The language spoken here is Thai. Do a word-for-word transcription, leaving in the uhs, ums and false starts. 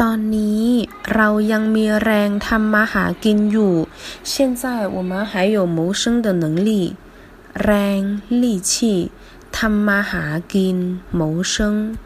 ตอนนี้เรายังมีแรงทำมาหากินอยู่现在我们还有谋生的能力แรง力气ทำมาหากิน谋生